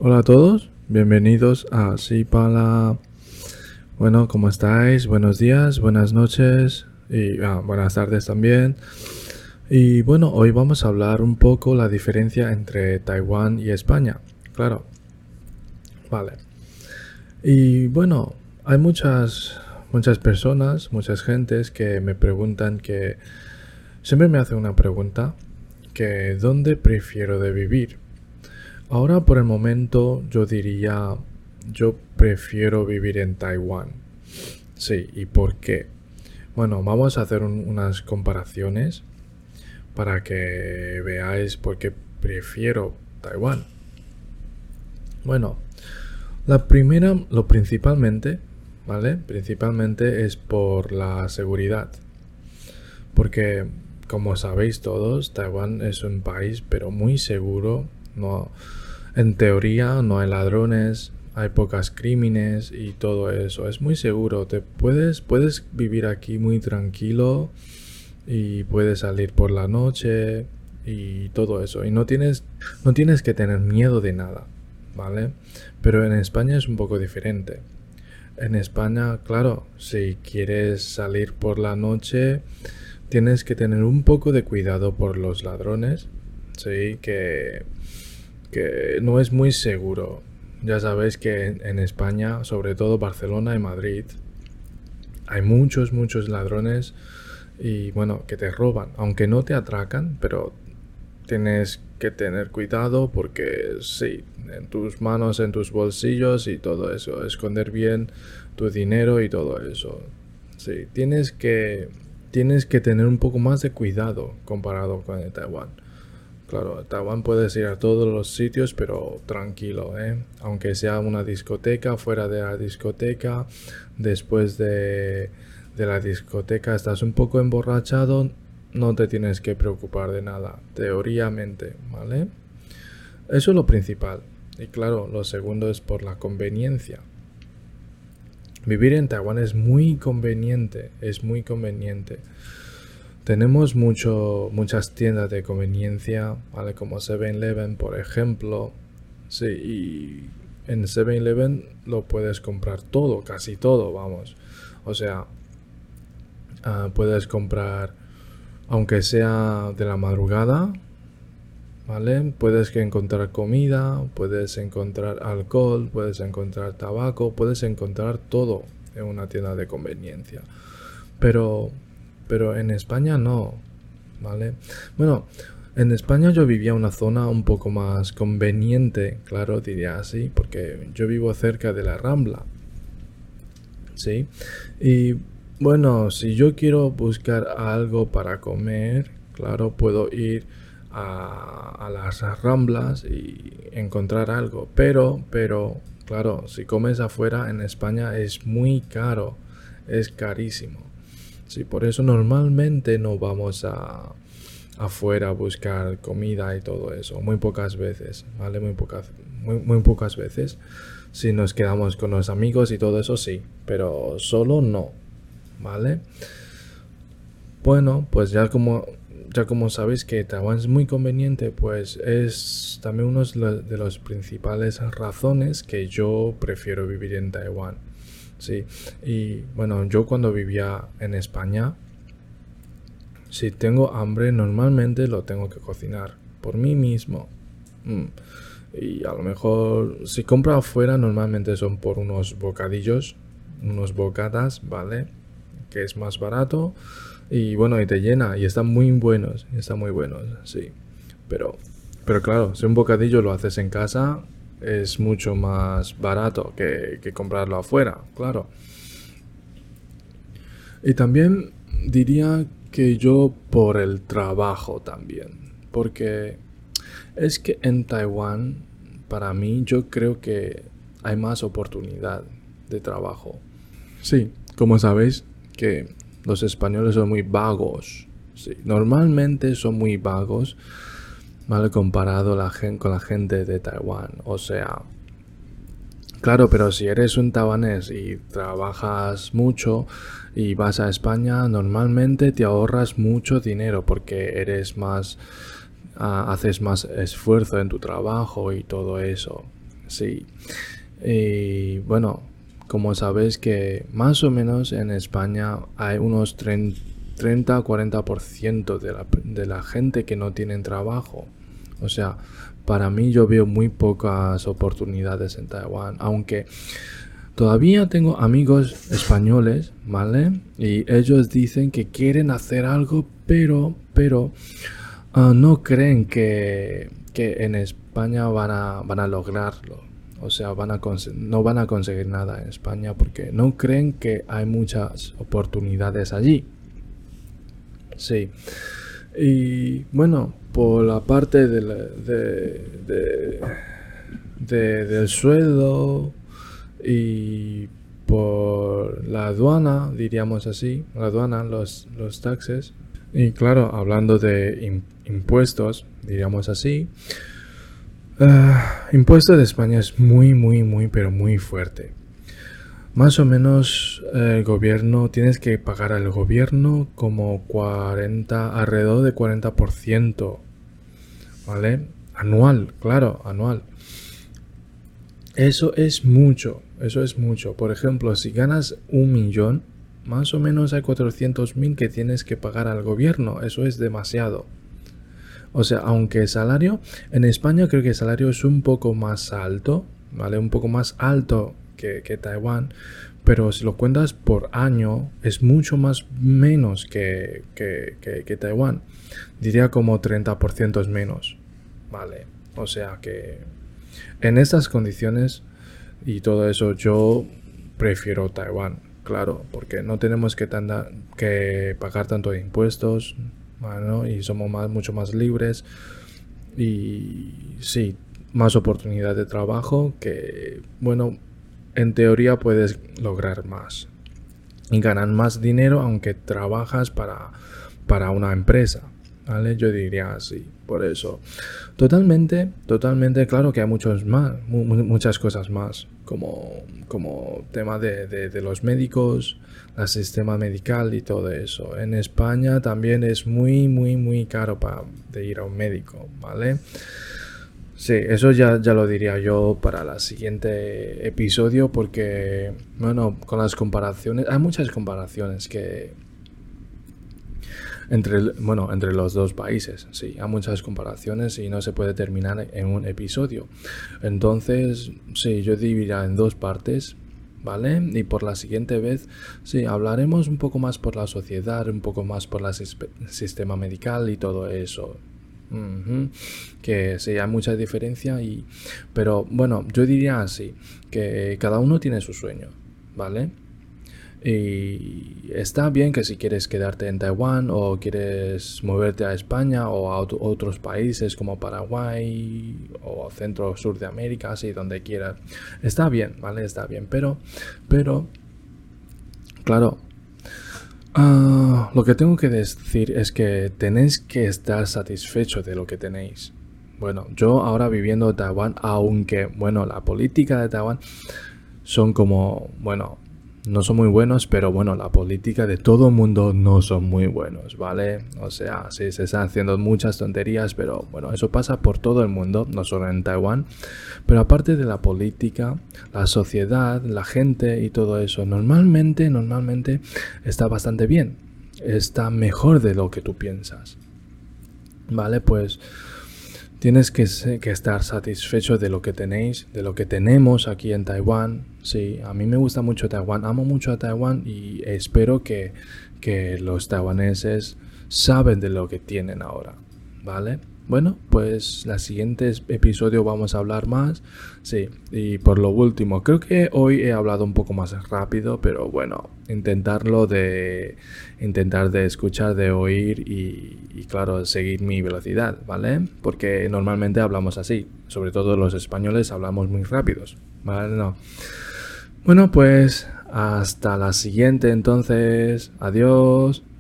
Hola a todos, bienvenidos a Sipala. Bueno, ¿cómo estáis? Buenos días, buenas noches y buenas tardes también. Y bueno, hoy vamos a hablar un poco la diferencia entre Taiwán y España. Claro, vale. Y bueno, hay muchas personas, muchas gentes que me preguntan que siempre me hacen una pregunta que ¿dónde prefiero de vivir? Ahora por el momento yo diría, yo prefiero vivir en Taiwán. Sí, ¿y por qué? Bueno, vamos a hacer unas comparaciones para que veáis por qué prefiero Taiwán. Bueno, la primera, lo principalmente, ¿vale? Principalmente es por la seguridad. Porque, como sabéis todos, Taiwán es un país pero muy seguro. No, en teoría no hay ladrones, hay pocos crímenes y todo eso. Es muy seguro. Puedes vivir aquí muy tranquilo y puedes salir por la noche y todo eso. Y no tienes que tener miedo de nada, ¿vale? Pero en España es un poco diferente. En España, claro, si quieres salir por la noche, tienes que tener un poco de cuidado por los ladrones, sí, que no es muy seguro. Ya sabéis que en España, sobre todo Barcelona y Madrid, hay muchos ladrones y bueno, que te roban, aunque no te atracan, pero tienes que tener cuidado porque sí, en tus manos, en tus bolsillos y todo eso, esconder bien tu dinero y todo eso. Sí, tienes que tener un poco más de cuidado comparado con el Taiwán. Claro, Taiwán puedes ir a todos los sitios, pero tranquilo, ¿eh? Aunque sea una discoteca, fuera de la discoteca, después de la discoteca estás un poco emborrachado, no te tienes que preocupar de nada, teóricamente, ¿vale? Eso es lo principal. Y claro, lo segundo es por la conveniencia. Vivir en Taiwán es muy conveniente, es muy conveniente. Tenemos muchas tiendas de conveniencia, ¿vale? Como 7-Eleven, por ejemplo. Sí, y en 7-Eleven lo puedes comprar todo, casi todo, vamos. O sea, puedes comprar, aunque sea de la madrugada, ¿vale? Puedes encontrar comida, puedes encontrar alcohol, puedes encontrar tabaco, puedes encontrar todo en una tienda de conveniencia. Pero en España no, ¿vale? Bueno, en España yo vivía en una zona un poco más conveniente, claro, diría así, porque yo vivo cerca de la Rambla, ¿sí? Y bueno, si yo quiero buscar algo para comer, claro, puedo ir a las Ramblas y encontrar algo, pero, claro, si comes afuera en España es muy caro, es carísimo. Sí, por eso normalmente no vamos afuera a buscar comida y todo eso. Muy pocas veces, ¿vale? Muy pocas veces. Si nos quedamos con los amigos y todo eso, sí. Pero solo no, ¿vale? Bueno, pues ya como sabéis que Taiwán es muy conveniente, pues es también uno de las principales razones que yo prefiero vivir en Taiwán. Sí, y bueno, yo cuando vivía en España, si tengo hambre, normalmente lo tengo que cocinar por mí mismo. Y a lo mejor, si compro afuera, normalmente son por unos bocadillos, unos bocatas, ¿vale? Que es más barato y bueno, y te llena y están muy buenos, sí. Pero, claro, si un bocadillo lo haces en casa, es mucho más barato que comprarlo afuera, claro. Y también diría que yo por el trabajo también, porque es que en Taiwán, para mí, yo creo que hay más oportunidad de trabajo. Sí, como sabéis, que los españoles son muy vagos. Sí, normalmente son muy vagos, mal comparado con la gente de Taiwán. O sea, claro, pero si eres un taiwanés y trabajas mucho y vas a España, normalmente te ahorras mucho dinero porque eres más, haces más esfuerzo en tu trabajo y todo eso. Sí. Y bueno, como sabéis que más o menos en España hay unos 30-40% de la gente que no tienen trabajo. O sea, para mí yo veo muy pocas oportunidades en Taiwán, aunque todavía tengo amigos españoles, ¿vale? Y ellos dicen que quieren hacer algo, pero no creen que en España van a lograrlo. O sea, no van a conseguir nada en España porque no creen que hay muchas oportunidades allí. Sí. Y bueno, por la parte del sueldo y por la aduana, diríamos así, la aduana, los taxes. Y claro, hablando de impuestos, diríamos así, impuesto de España es muy, pero muy fuerte. Más o menos el gobierno, tienes que pagar al gobierno como alrededor de 40%, ¿vale? Anual, claro, anual. Eso es mucho. Por ejemplo, si ganas 1 millón, más o menos hay 400.000 que tienes que pagar al gobierno. Eso es demasiado. O sea, aunque el salario, en España creo que el salario es un poco más alto, ¿vale? Un poco más alto que Taiwán, pero si lo cuentas por año, es mucho más menos que Taiwán. Diría como 30% es menos, ¿vale? O sea que en estas condiciones y todo eso, yo prefiero Taiwán, claro, porque no tenemos que pagar tanto de impuestos, bueno, y somos mucho más libres y sí, más oportunidad de trabajo que, bueno, en teoría puedes lograr más y ganar más dinero aunque trabajas para una empresa, ¿vale? Yo diría así, por eso. Totalmente, claro que hay muchas cosas más, como tema de los médicos, el sistema medical y todo eso. En España también es muy caro de ir a un médico, ¿vale? Sí, eso ya lo diría yo para el siguiente episodio porque, bueno, con las comparaciones, hay muchas comparaciones entre los dos países, sí, hay muchas comparaciones y no se puede terminar en un episodio. Entonces, sí, yo dividiría en dos partes, ¿vale? Y por la siguiente vez, sí, hablaremos un poco más por la sociedad, un poco más por el sistema medical y todo eso. Que sí, hay mucha diferencia pero bueno, yo diría así, que cada uno tiene su sueño, ¿vale? Y está bien que si quieres quedarte en Taiwán o quieres moverte a España o a otros países como Paraguay o centro o sur de América, así donde quieras. Está bien, ¿vale? Está bien, pero claro, lo que tengo que decir es que tenéis que estar satisfechos de lo que tenéis. Bueno, yo ahora viviendo en Taiwán, aunque, bueno, la política de Taiwán son como, bueno, no son muy buenos, pero bueno, la política de todo el mundo no son muy buenos, ¿vale? O sea, sí, se están haciendo muchas tonterías, pero bueno, eso pasa por todo el mundo, no solo en Taiwán. Pero aparte de la política, la sociedad, la gente y todo eso, normalmente está bastante bien. Está mejor de lo que tú piensas. ¿Vale? Pues tienes que estar satisfecho de lo que tenéis, de lo que tenemos aquí en Taiwán. Sí, a mí me gusta mucho Taiwán, amo mucho a Taiwán y espero que los taiwaneses saben de lo que tienen ahora, ¿vale? Bueno, pues el siguiente episodio vamos a hablar más. Sí, y por lo último, creo que hoy he hablado un poco más rápido, pero bueno, intentar de escuchar, de oír y claro, seguir mi velocidad, ¿vale? Porque normalmente hablamos así, sobre todo los españoles hablamos muy rápidos, ¿vale? No. Bueno, pues hasta la siguiente entonces. Adiós.